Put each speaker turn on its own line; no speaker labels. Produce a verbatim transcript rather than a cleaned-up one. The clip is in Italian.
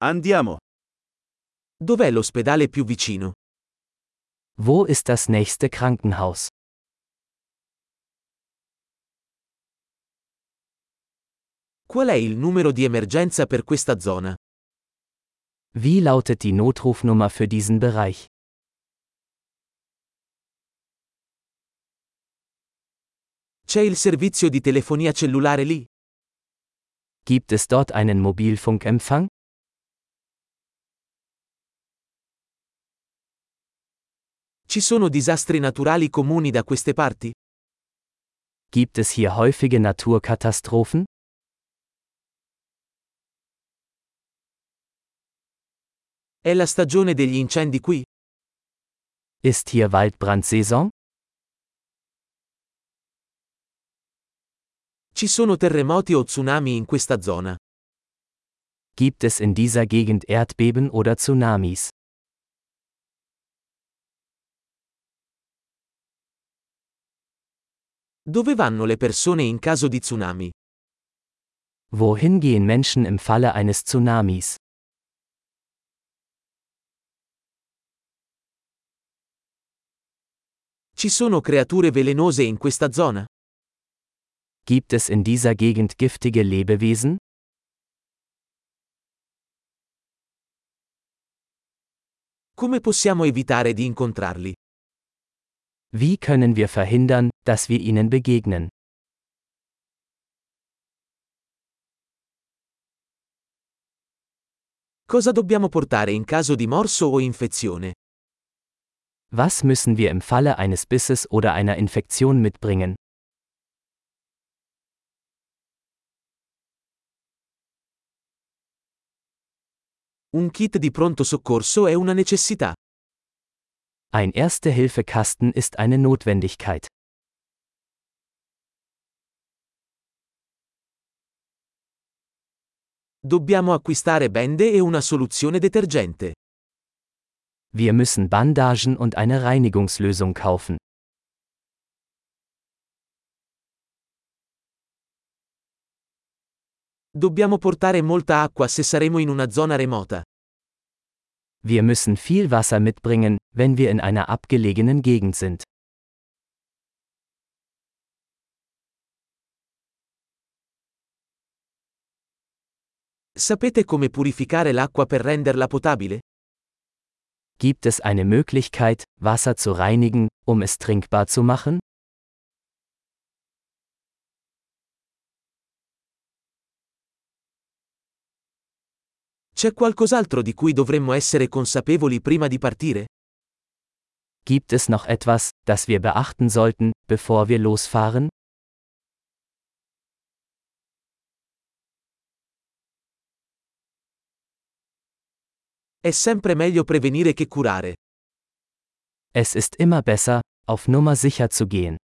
Andiamo.
Dov'è l'ospedale più vicino?
Wo ist das nächste Krankenhaus?
Qual è il numero di emergenza per questa zona?
Wie lautet die Notrufnummer für diesen Bereich?
C'è il servizio di telefonia cellulare lì?
Gibt es dort einen Mobilfunkempfang?
Ci sono disastri naturali comuni da queste parti?
Gibt es hier häufige Naturkatastrophen?
È la stagione degli incendi qui?
Ist hier Waldbrandsaison?
Ci sono terremoti o tsunami in questa zona?
Gibt es in dieser Gegend Erdbeben oder Tsunamis?
Dove vanno le persone in caso di tsunami?
Wohin gehen Menschen im Falle eines Tsunamis?
Ci sono creature velenose in questa zona?
Gibt es in dieser Gegend giftige Lebewesen?
Come possiamo evitare di incontrarli?
Wie können wir verhindern, dass wir ihnen begegnen?
Cosa dobbiamo portare in caso di morso o infezione?
Was müssen wir im Falle eines Bisses oder einer Infektion mitbringen?
Un kit di pronto soccorso è una necessità.
Ein Erste-Hilfe-Kasten ist eine Notwendigkeit.
Dobbiamo acquistare bende e una soluzione detergente.
Wir müssen Bandagen und eine Reinigungslösung kaufen.
Dobbiamo portare molta acqua se saremo in una zona remota.
Wir müssen viel Wasser mitbringen, wenn wir in einer abgelegenen Gegend sind.
Sapete come purificare l'acqua per renderla potabile?
Gibt es eine Möglichkeit, Wasser zu reinigen, um es trinkbar zu machen?
C'è qualcos'altro di cui dovremmo essere consapevoli prima di partire?
Gibt es noch etwas, das wir beachten sollten, bevor wir losfahren?
È sempre meglio prevenire che curare.
Es ist immer besser, auf Nummer sicher zu gehen.